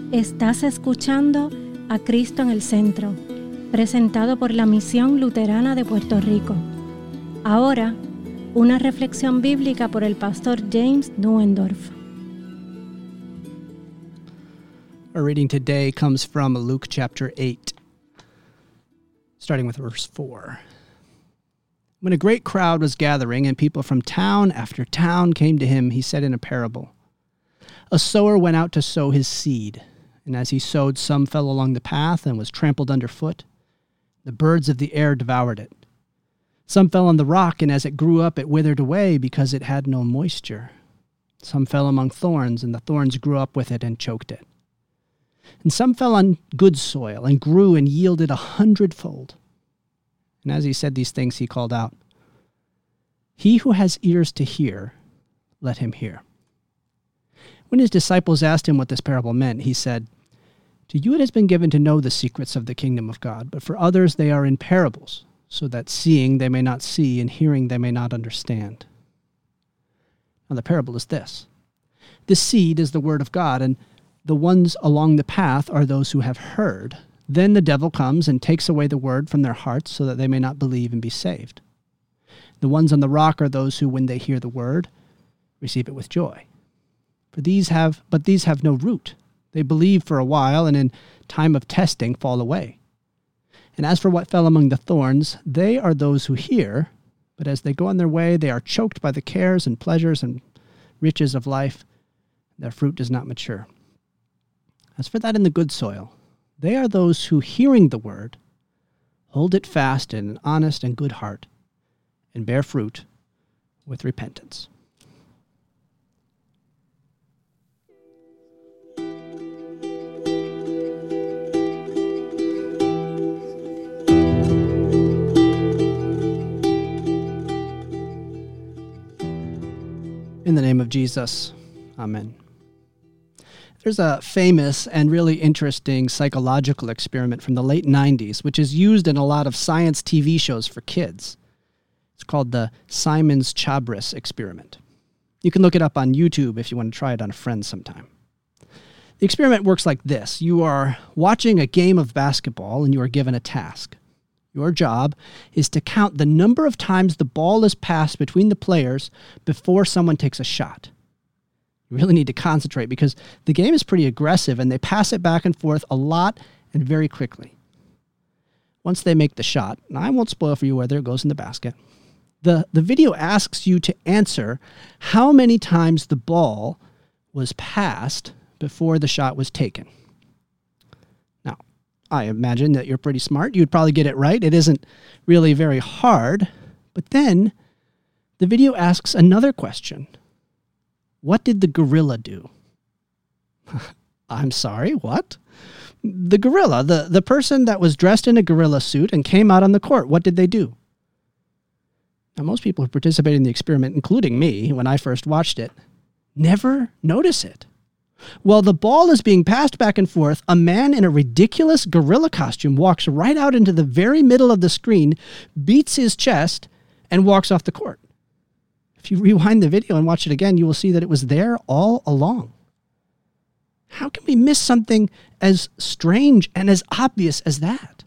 Estás escuchando a Cristo en el Centro, presentado por la Misión Luterana de Puerto Rico. Ahora, una reflexión bíblica por el pastor James Nuendorf. Our reading today comes from Luke chapter 8, starting with verse 4. When a great crowd was gathering and people from town after town came to him, he said in a parable, "A sower went out to sow his seed, and as he sowed, some fell along the path and was trampled underfoot. The birds of the air devoured it. Some fell on the rock, and as it grew up, it withered away because it had no moisture. Some fell among thorns, and the thorns grew up with it and choked it. And some fell on good soil and grew and yielded 100-fold. And as he said these things, he called out, 'He who has ears to hear, let him hear.' When his disciples asked him what this parable meant, he said, 'To you it has been given to know the secrets of the kingdom of God, but for others they are in parables, so that seeing they may not see and hearing they may not understand.' Now the parable is this. The seed is the word of God, and the ones along the path are those who have heard. Then the devil comes and takes away the word from their hearts so that they may not believe and be saved. The ones on the rock are those who, when they hear the word, receive it with joy. But these have no root. They believe for a while, and in time of testing fall away. And as for what fell among the thorns, they are those who hear, but as they go on their way, they are choked by the cares and pleasures and riches of life. Their fruit does not mature. As for that in the good soil, they are those who, hearing the word, hold it fast in an honest and good heart, and bear fruit with repentance." In the name of Jesus, amen. There's a famous and really interesting psychological experiment from the late 90s, which is used in a lot of science TV shows for kids. It's called the Simons-Chabris experiment. You can look it up on YouTube if you want to try it on a friend sometime. The experiment works like this. You are watching a game of basketball and you are given a task. Your job is to count the number of times the ball is passed between the players before someone takes a shot. You really need to concentrate because the game is pretty aggressive and they pass it back and forth a lot and very quickly. Once they make the shot, and I won't spoil for you whether it goes in the basket, the video asks you to answer how many times the ball was passed before the shot was taken. Now, I imagine that you're pretty smart. You'd probably get it right. It isn't really very hard. But then the video asks another question. What did the gorilla do? I'm sorry, what? The gorilla, the person that was dressed in a gorilla suit and came out on the court, what did they do? Now, most people who participated in the experiment, including me, when I first watched it, never notice it. While the ball is being passed back and forth, a man in a ridiculous gorilla costume walks right out into the very middle of the screen, beats his chest, and walks off the court. If you rewind the video and watch it again, you will see that it was there all along. How can we miss something as strange and as obvious as that?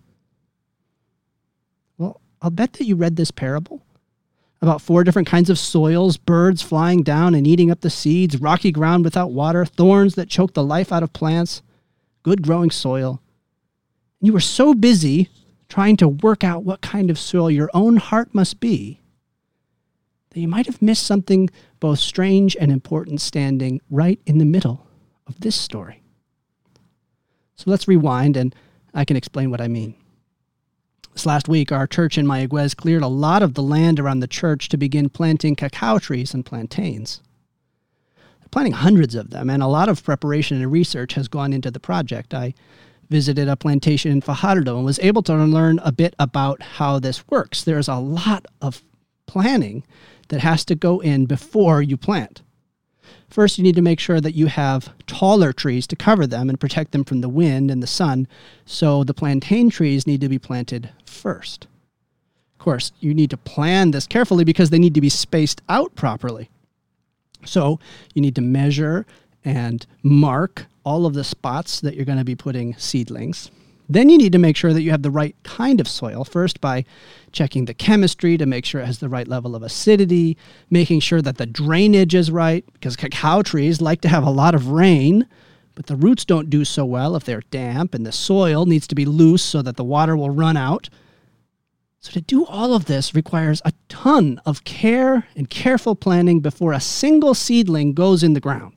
Well, I'll bet that you read this parable about 4 different kinds of soils, birds flying down and eating up the seeds, rocky ground without water, thorns that choke the life out of plants, good growing soil. And you were so busy trying to work out what kind of soil your own heart must be that you might have missed something both strange and important standing right in the middle of this story. So let's rewind and I can explain what I mean. This last week, our church in Mayaguez cleared a lot of the land around the church to begin planting cacao trees and plantains. They're planting hundreds of them, and a lot of preparation and research has gone into the project. I visited a plantation in Fajardo and was able to learn a bit about how this works. There's a lot of planning that has to go in before you plant. First, you need to make sure that you have taller trees to cover them and protect them from the wind and the sun, so the plantain trees need to be planted first. Of course, you need to plan this carefully because they need to be spaced out properly. So you need to measure and mark all of the spots that you're going to be putting seedlings. Then you need to make sure that you have the right kind of soil, first by checking the chemistry to make sure it has the right level of acidity, making sure that the drainage is right, because cacao trees like to have a lot of rain, but the roots don't do so well if they're damp, and the soil needs to be loose so that the water will run out. So to do all of this requires a ton of care and careful planning before a single seedling goes in the ground.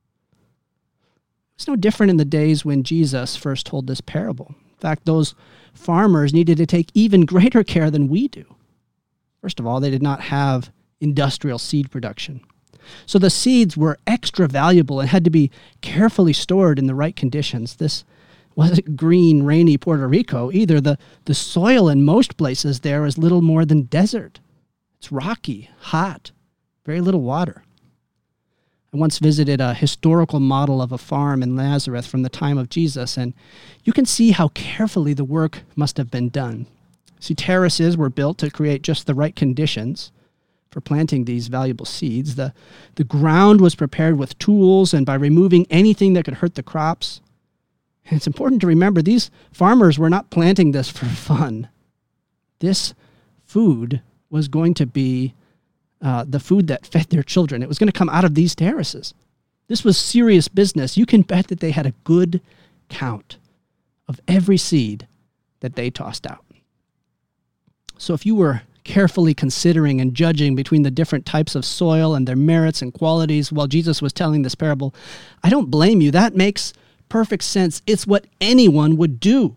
It's no different in the days when Jesus first told this parable. In fact, those farmers needed to take even greater care than we do. First of all, they did not have industrial seed production. So the seeds were extra valuable and had to be carefully stored in the right conditions. This wasn't green, rainy Puerto Rico either. The soil in most places there is little more than desert. It's rocky, hot, very little water. I once visited a historical model of a farm in Nazareth from the time of Jesus, and you can see how carefully the work must have been done. See, terraces were built to create just the right conditions for planting these valuable seeds. The ground was prepared with tools and by removing anything that could hurt the crops. And it's important to remember these farmers were not planting this for fun. This food was going to be the food that fed their children. It was going to come out of these terraces. This was serious business. You can bet that they had a good count of every seed that they tossed out. So if you were carefully considering and judging between the different types of soil and their merits and qualities while Jesus was telling this parable, I don't blame you. That makes perfect sense. It's what anyone would do.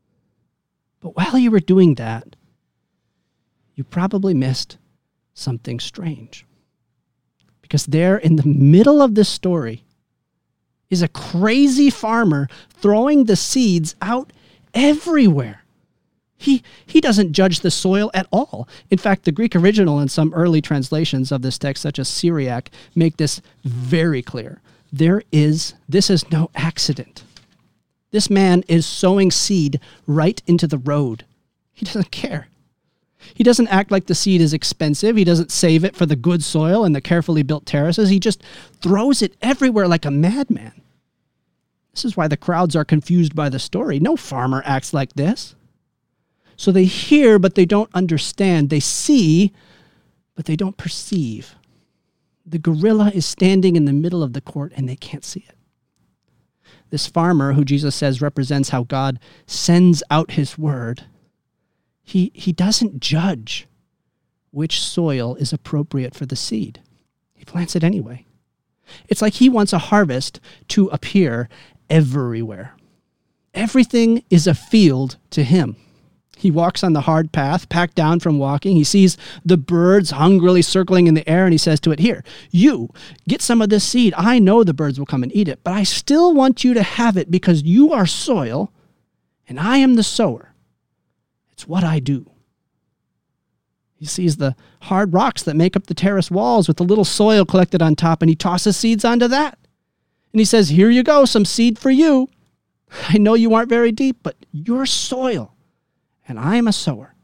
But while you were doing that, you probably missed something strange. Because there in the middle of this story is a crazy farmer throwing the seeds out everywhere. He doesn't judge the soil at all. In fact, the Greek original and some early translations of this text, such as Syriac, make this very clear. This is no accident. This man is sowing seed right into the road. He doesn't care. He doesn't act like the seed is expensive. He doesn't save it for the good soil and the carefully built terraces. He just throws it everywhere like a madman. This is why the crowds are confused by the story. No farmer acts like this. So they hear, but they don't understand. They see, but they don't perceive. The gorilla is standing in the middle of the court, and they can't see it. This farmer, who Jesus says represents how God sends out his word, he doesn't judge which soil is appropriate for the seed. He plants it anyway. It's like he wants a harvest to appear everywhere. Everything is a field to him. He walks on the hard path, packed down from walking. He sees the birds hungrily circling in the air, and he says to it, "Here, you, get some of this seed. I know the birds will come and eat it, but I still want you to have it because you are soil, and I am the sower. It's what I do." He sees the hard rocks that make up the terrace walls with the little soil collected on top, and he tosses seeds onto that. And he says, "Here you go, some seed for you. I know you aren't very deep, but you're soil. And I am a sower."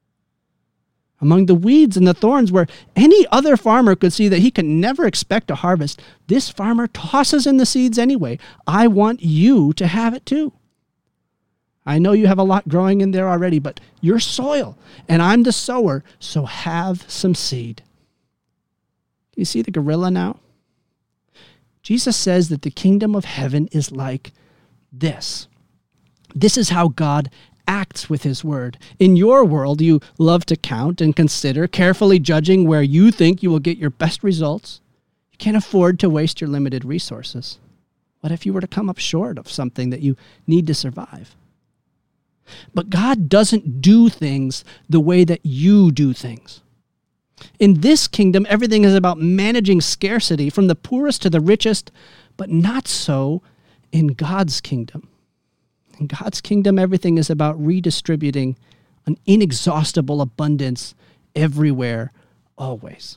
Among the weeds and the thorns where any other farmer could see that he could never expect a harvest, this farmer tosses in the seeds anyway. I want you to have it too. I know you have a lot growing in there already, but you're soil, and I'm the sower, so have some seed. Do you see the gorilla now? Jesus says that the kingdom of heaven is like this. This is how God acts with his word. In your world, you love to count and consider, carefully judging where you think you will get your best results. You can't afford to waste your limited resources. What if you were to come up short of something that you need to survive? But God doesn't do things the way that you do things. In this kingdom, everything is about managing scarcity from the poorest to the richest, but not so in God's kingdom. In God's kingdom, everything is about redistributing an inexhaustible abundance everywhere, always.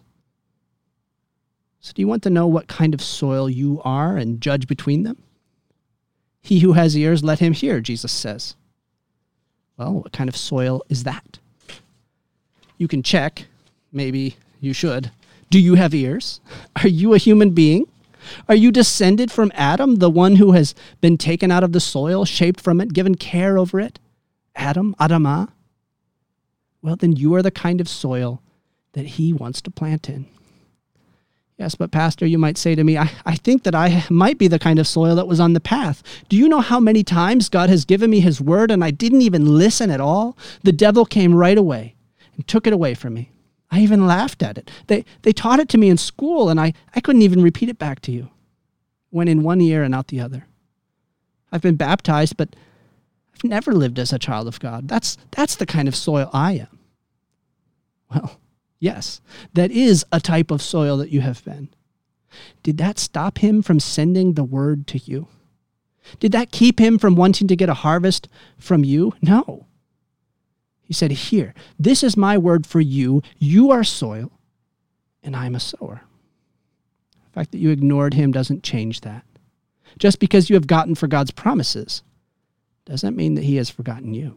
So do you want to know what kind of soil you are and judge between them? He who has ears, let him hear, Jesus says. Well, what kind of soil is that? You can check. Maybe you should. Do you have ears? Are you a human being? Are you descended from Adam, the one who has been taken out of the soil, shaped from it, given care over it? Adam, Adamah? Well, then you are the kind of soil that he wants to plant in. Yes, but Pastor, you might say to me, I think that I might be the kind of soil that was on the path. Do you know how many times God has given me his word and I didn't even listen at all? The devil came right away and took it away from me. I even laughed at it. They taught it to me in school and I couldn't even repeat it back to you. Went in one ear and out the other. I've been baptized, but I've never lived as a child of God. That's the kind of soil I am. Well, yes, that is a type of soil that you have been. Did that stop him from sending the word to you? Did that keep him from wanting to get a harvest from you? No. He said, here, this is my word for you. You are soil, and I'm a sower. The fact that you ignored him doesn't change that. Just because you have gotten for God's promises doesn't mean that he has forgotten you.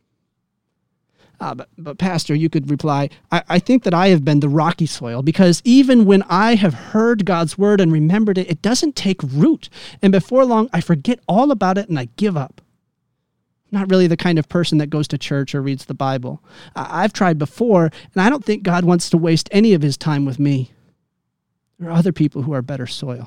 But Pastor, you could reply, I think that I have been the rocky soil because even when I have heard God's word and remembered it, it doesn't take root. And before long, I forget all about it and I give up. I'm not really the kind of person that goes to church or reads the Bible. I've tried before, and I don't think God wants to waste any of his time with me. There are other people who are better soil.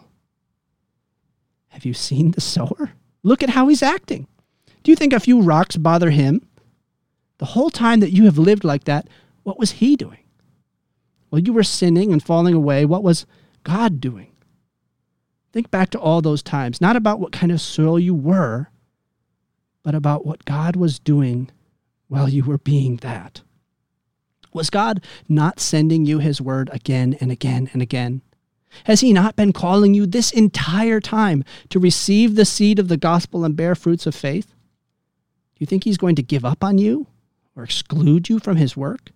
Have you seen the sower? Look at how he's acting. Do you think a few rocks bother him? The whole time that you have lived like that, what was he doing? Well, you were sinning and falling away. What was God doing? Think back to all those times, not about what kind of soil you were, but about what God was doing while you were being that. Was God not sending you his word again and again and again? Has he not been calling you this entire time to receive the seed of the gospel and bear fruits of faith? Do you think he's going to give up on you? Or exclude you from his work?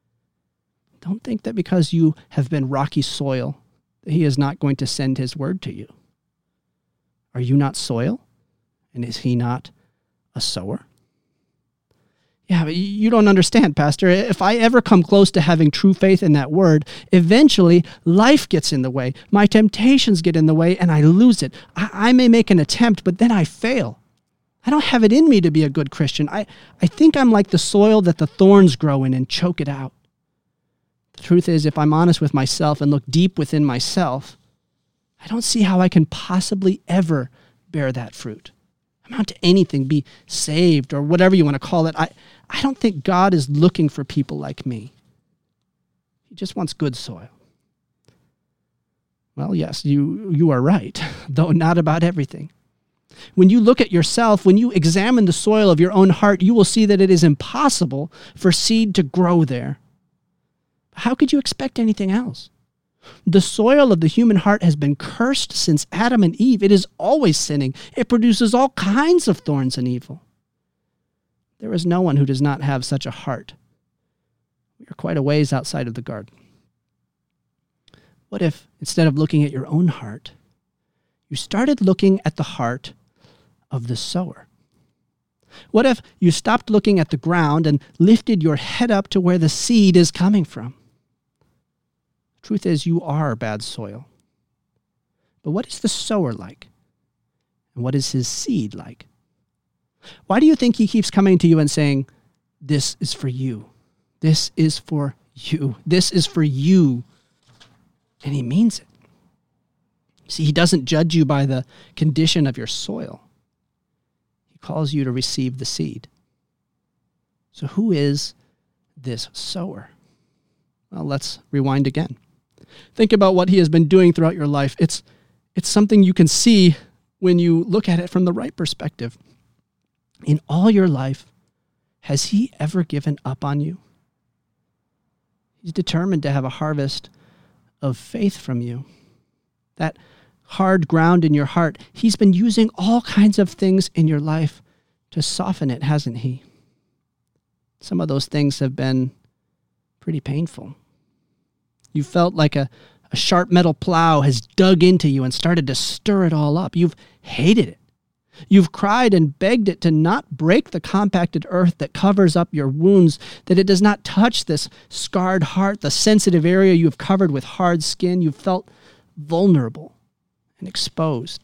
Don't think that because you have been rocky soil, that he is not going to send his word to you. Are you not soil? And is he not a sower? Yeah, but you don't understand, Pastor. If I ever come close to having true faith in that word, eventually life gets in the way. My temptations get in the way and I lose it. I may make an attempt, but then I fail. I don't have it in me to be a good Christian. I think I'm like the soil that the thorns grow in and choke it out. The truth is, if I'm honest with myself and look deep within myself, I don't see how I can possibly ever bear that fruit, amount to anything, be saved or whatever you want to call it. I don't think God is looking for people like me. He just wants good soil. Well, yes, you are right, though not about everything. When you look at yourself, when you examine the soil of your own heart, you will see that it is impossible for seed to grow there. How could you expect anything else? The soil of the human heart has been cursed since Adam and Eve. It is always sinning. It produces all kinds of thorns and evil. There is no one who does not have such a heart. We are quite a ways outside of the garden. What if, instead of looking at your own heart, you started looking at the heart of the sower? What if you stopped looking at the ground and lifted your head up to where the seed is coming from? The truth is, you are bad soil. But what is the sower like? And what is his seed like? Why do you think he keeps coming to you and saying, this is for you. This is for you. This is for you. And he means it. See, he doesn't judge you by the condition of your soil. He calls you to receive the seed. So who is this sower? Well, let's rewind again. Think about what he has been doing throughout your life. It's something you can see when you look at it from the right perspective. In all your life, has he ever given up on you? He's determined to have a harvest of faith from you. That hard ground in your heart, he's been using all kinds of things in your life to soften it, hasn't he? Some of those things have been pretty painful. You felt like a sharp metal plow has dug into you and started to stir it all up. You've hated it. You've cried and begged it to not break the compacted earth that covers up your wounds, that it does not touch this scarred heart, the sensitive area you have covered with hard skin. You've felt vulnerable and exposed.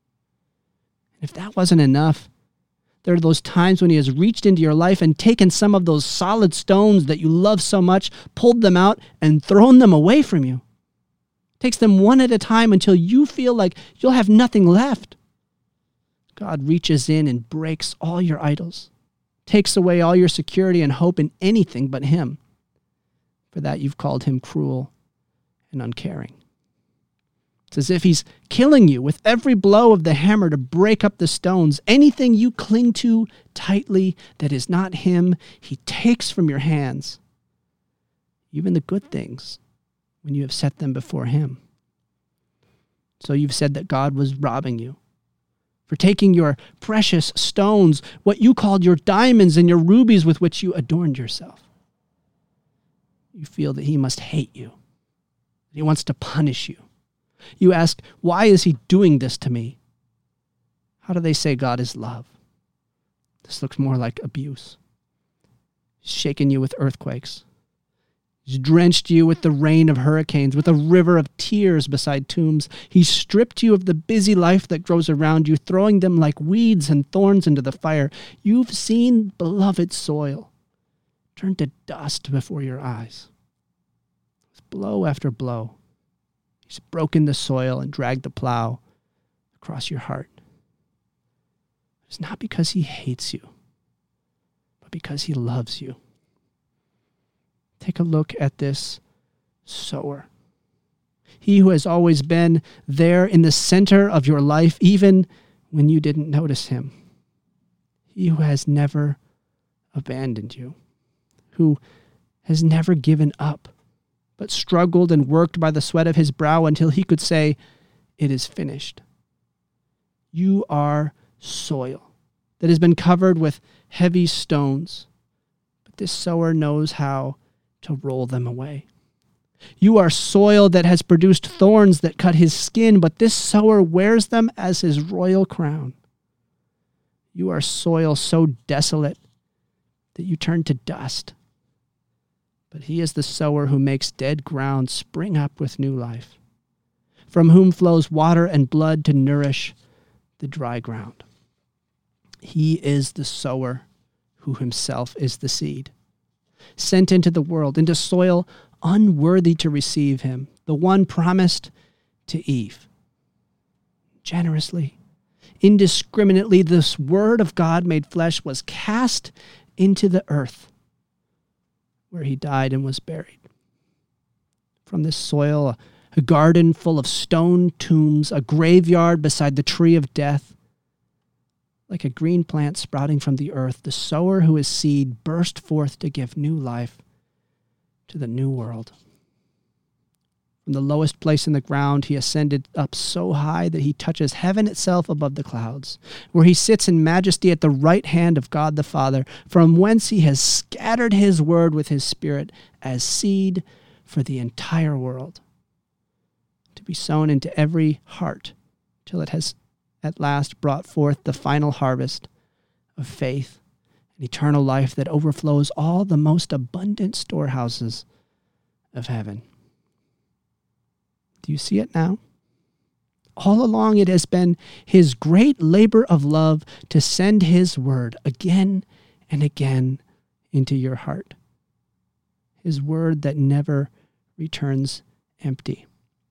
And if that wasn't enough, there are those times when he has reached into your life and taken some of those solid stones that you love so much, pulled them out, and thrown them away from you. Takes them one at a time until you feel like you'll have nothing left. God reaches in and breaks all your idols, takes away all your security and hope in anything but him. For that you've called him cruel and uncaring. It's as if he's killing you with every blow of the hammer to break up the stones. Anything you cling to tightly that is not him, he takes from your hands. Even the good things, when you have set them before him. So you've said that God was robbing you for taking your precious stones, what you called your diamonds and your rubies with which you adorned yourself. You feel that he must hate you, that he wants to punish you. You ask, why is he doing this to me? How do they say God is love? This looks more like abuse. He's shaken you with earthquakes. He's drenched you with the rain of hurricanes, with a river of tears beside tombs. He's stripped you of the busy life that grows around you, throwing them like weeds and thorns into the fire. You've seen beloved soil turn to dust before your eyes. With blow after blow, he's broken the soil and dragged the plow across your heart. It's not because he hates you, but because he loves you. Take a look at this sower. He who has always been there in the center of your life, even when you didn't notice him. He who has never abandoned you, who has never given up, but struggled and worked by the sweat of his brow until he could say, "It is finished." You are soil that has been covered with heavy stones, but this sower knows how to roll them away. You are soil that has produced thorns that cut his skin, but this sower wears them as his royal crown. You are soil so desolate that you turn to dust, but he is the sower who makes dead ground spring up with new life, from whom flows water and blood to nourish the dry ground. He is the sower who himself is the seed, sent into the world, into soil unworthy to receive him, the one promised to Eve. Generously, indiscriminately, this word of God made flesh was cast into the earth, where he died and was buried. From this soil, a garden full of stone tombs, a graveyard beside the tree of death, like a green plant sprouting from the earth, the sower who is seed burst forth to give new life to the new world. From the lowest place in the ground, he ascended up so high that he touches heaven itself above the clouds, where he sits in majesty at the right hand of God the Father, from whence he has scattered his word with his Spirit as seed for the entire world, to be sown into every heart till it has at last brought forth the final harvest of faith and eternal life that overflows all the most abundant storehouses of heaven. Do you see it now? All along it has been his great labor of love to send his word again and again into your heart. His word that never returns empty.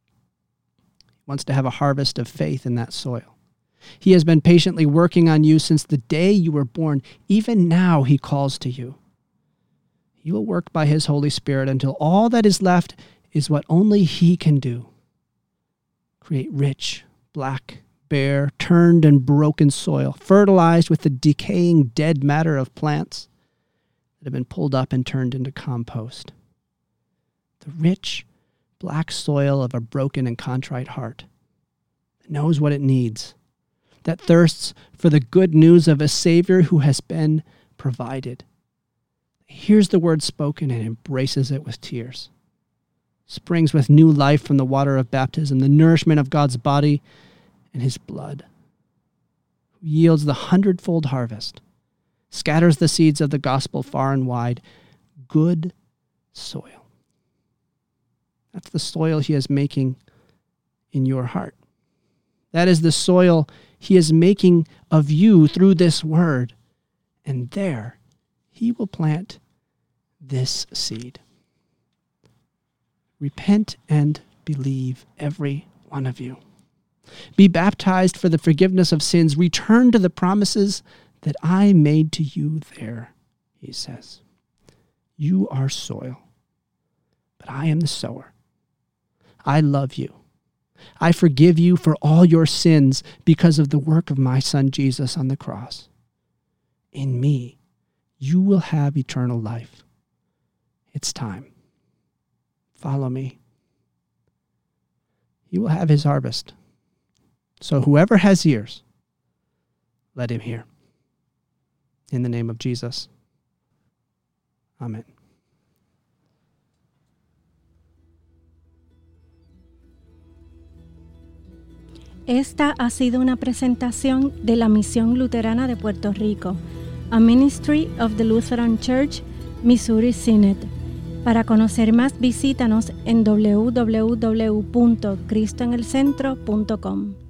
He wants to have a harvest of faith in that soil. He has been patiently working on you since the day you were born. Even now he calls to you. He will work by his Holy Spirit until all that is left is what only he can do. Create rich, black, bare, turned and broken soil, fertilized with the decaying dead matter of plants that have been pulled up and turned into compost. The rich, black soil of a broken and contrite heart that knows what it needs, that thirsts for the good news of a Savior who has been provided. Hears the word spoken and embraces it with tears. Springs with new life from the water of baptism, the nourishment of God's body and his blood. Yields the 100-fold harvest. Scatters the seeds of the gospel far and wide. Good soil. That's the soil he is making in your heart. That is the soil he is making of you through this word. And there he will plant this seed. Repent and believe, every one of you. Be baptized for the forgiveness of sins. Return to the promises that I made to you there, he says. You are soil, but I am the sower. I love you. I forgive you for all your sins because of the work of my Son Jesus on the cross. In me, you will have eternal life. It's time. Follow me. He will have his harvest. So whoever has ears, let him hear. In the name of Jesus. Amén. Esta ha sido una presentación de la Misión Luterana de Puerto Rico, a Ministry of the Lutheran Church, Missouri Synod. Para conocer más, visítanos en www.cristoenelcentro.com.